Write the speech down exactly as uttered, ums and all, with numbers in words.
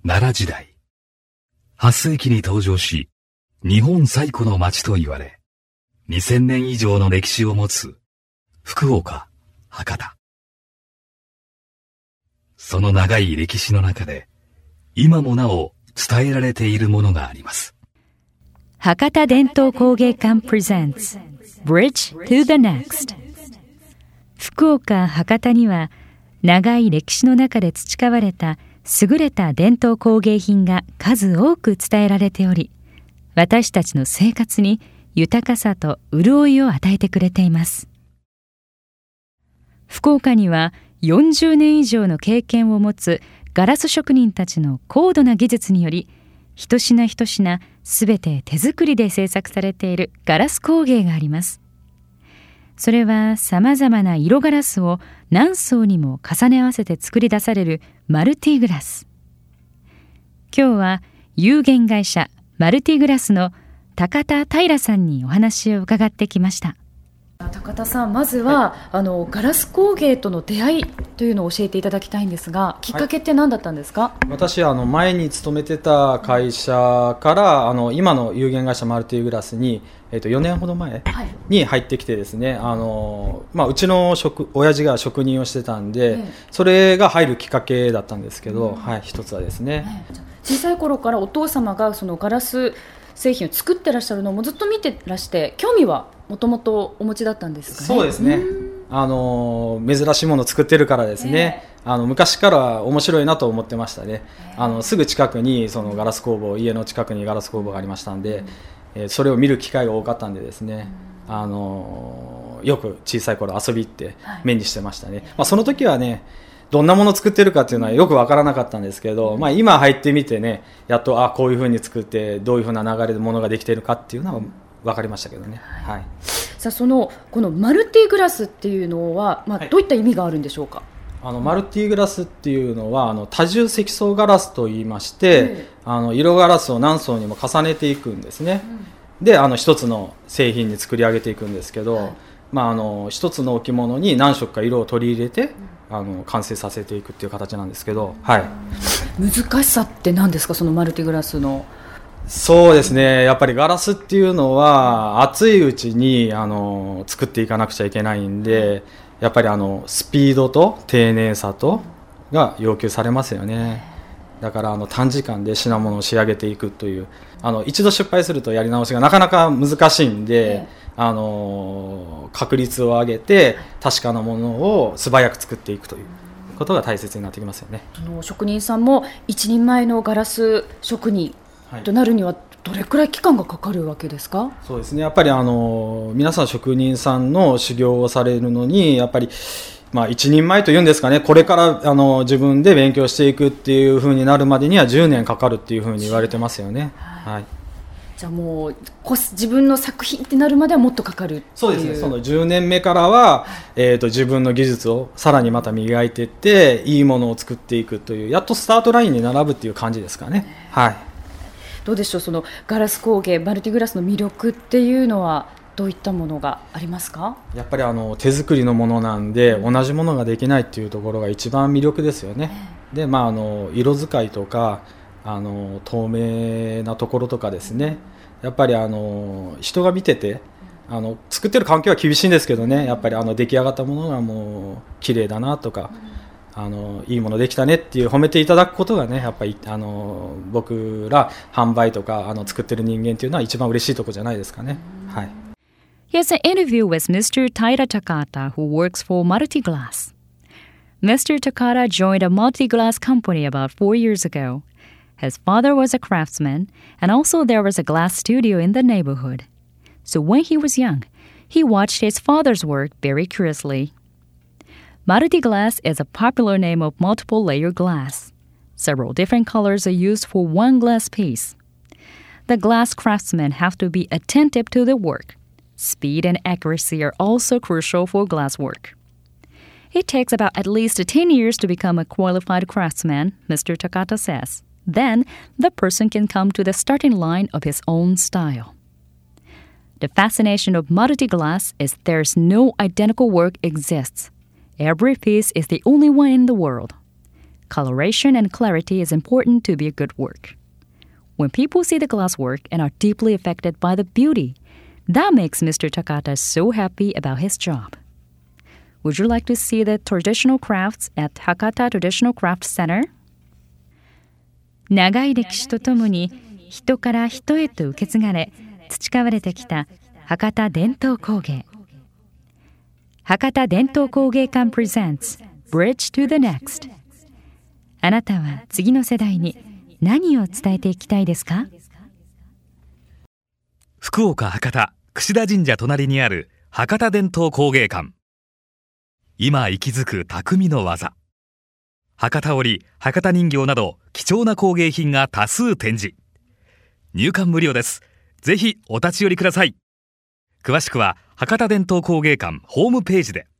奈良時代、はっ世紀に登場し、日本最古の町と言われ、にせんねん以上の歴史を持つ福岡、博多。その長い歴史の中で、今もなお伝えられているものがあります。 博多伝統工芸館 presents Bridge to the Next。 福岡・博多には長い歴史の中で培われた優れた伝統工芸品が数多く伝えられており、私たちの生活に豊かさと潤いを与えてくれています。福岡にはよんじゅうねん以上の経験を持つガラス職人たちの高度な技術により、一品一品すべて手作りで制作されているガラス工芸があります。それはさまざまな色ガラスを何層にも重ね合わせて作り出されるマルティグラス。今日は有限会社マルティグラスの高田平さんにお話を伺ってきました。 高田さん、まずは、はい、あのガラス工芸との出会いというのを教えていただきたいんですが、きっかけって何だったんですか？はい、 私あの前に勤めてた会社からあの今の有限会社マルティグラスに、えー、とよねんほど前に入ってきてですね、あの、まあ、うちの職親父が職人をしてたんで、えー、それが入るきっかけだったんですけど、うん、はい、一つはですね、 えー、小さい頃からお父様がそのガラス製品を作ってらっしゃるのもずっと見てらして、興味はもともとお持ちだったんですかね？ そうですね、あの珍しいものを作ってるからですね、えー、あの昔から面白いなと思ってましたね。えー、あのすぐ近くにそのガラス工房、家の近くにガラス工房がありましたんで、うん、えー、それを見る機会が多かったんでですね、うん、あのよく小さい頃遊び行って目にしてましたね。はい、まあ、その時はね、どんなものを作ってるかっていうのはよく分からなかったんですけど、まあ、今入ってみてね、やっとあこういう風に作ってどういう風な流れでものができているかっていうのは分かりましたけどね。はい、 さあ、そのこのマルティグラスっていうのは、まあ、どういった意味があるんでしょうか？ はい、あのマルティグラスっていうのはあの多重積層ガラスといいまして、うん、あの色ガラスを何層にも重ねていくんですね。うん、であの一つの製品に作り上げていくんですけど、はい、まあ、あの一つの置物に何色か色を取り入れて、うん、あの完成させていくっていう形なんですけど、はい、 難しさって何ですか、そのマルティグラスの？ そうですね、やっぱりガラスっていうのは熱いうちにあの作っていかなくちゃいけないんで、やっぱりあのスピードと丁寧さとが要求されますよね。だからあの短時間で品物を仕上げていくという、あの一度失敗するとやり直しがなかなか難しいんで、あの確率を上げて確かなものを素早く作っていくということが大切になってきますよね。 その職人さんも一人前のガラス職人となるにはどれくらい期間がかかるわけですか？ そうですね、やっぱりあの皆さん職人さんの修行をされるのにやっぱり、まあ、一人前というんですかね、これからあの自分で勉強していくっていう風になるまでにはじゅうねんかかるっていう風に言われてますよね。はいはい、 じゃあもう自分の作品ってなるまではもっとかかるっていう？ そうですね、そのじゅうねんめからは、えーと、自分の技術をさらにまた磨いていっていいものを作っていくという、やっとスタートラインに並ぶっていう感じですかね。はい、 どうでしょう、そのガラス工芸マルティグラスの魅力っていうのはどういったものがありますか？ やっぱりあの手作りのものなんで、うん、同じものができないっていうところが一番魅力ですよね。えー、で、まあ、あの色使いとかあの透明なところとかですね、やっぱりあの人が見てて、あの作ってる環境は厳しいんですけどね、やっぱりあの出来上がったものがもう綺麗だなとか、うん、あのいいものできたねっていう褒めていただくことがね、やっぱりあの僕ら販売とかあの作ってる人間っていうのは一番嬉しいところじゃないですかね。はい。 Here's an interview with Mister Taira Takata, who works for Multiglass. Mister Takata joined a Multiglass company about four years ago. His father was a craftsman, and also there was a glass studio in the neighborhood. So when he was young, he watched his father's work very curiously. Multiglass is a popular name of multiple layer glass. Several different colors are used for one glass piece. The glass craftsmen have to be attentive to their work. Speed and accuracy are also crucial for glass work. It takes about at least ten years to become a qualified craftsman, Mister Takata says. Then, the person can come to the starting line of his own style. The fascination of multi-glass is there's no identical work exists. Every piece is the only one in the world. Coloration and clarity is important to be a good work. When people see the glass work and are deeply affected by the beauty, that makes Mister Takata so happy about his job. Would you like to see the traditional crafts at Hakata Traditional Craft Center? 長い歴史とともに人から人へと受け継がれ培われてきた博多伝統工芸。博多伝統工芸館 presents Bridge to the Next。あなたは次の世代に何を伝えていきたいですか？ 福岡博多櫛田神社隣にある博多伝統工芸館。今息づく匠の技。博多織、博多人形など貴重な工芸品が多数展示。入館無料です。ぜひお立ち寄りください。詳しくは博多伝統工芸館ホームページで。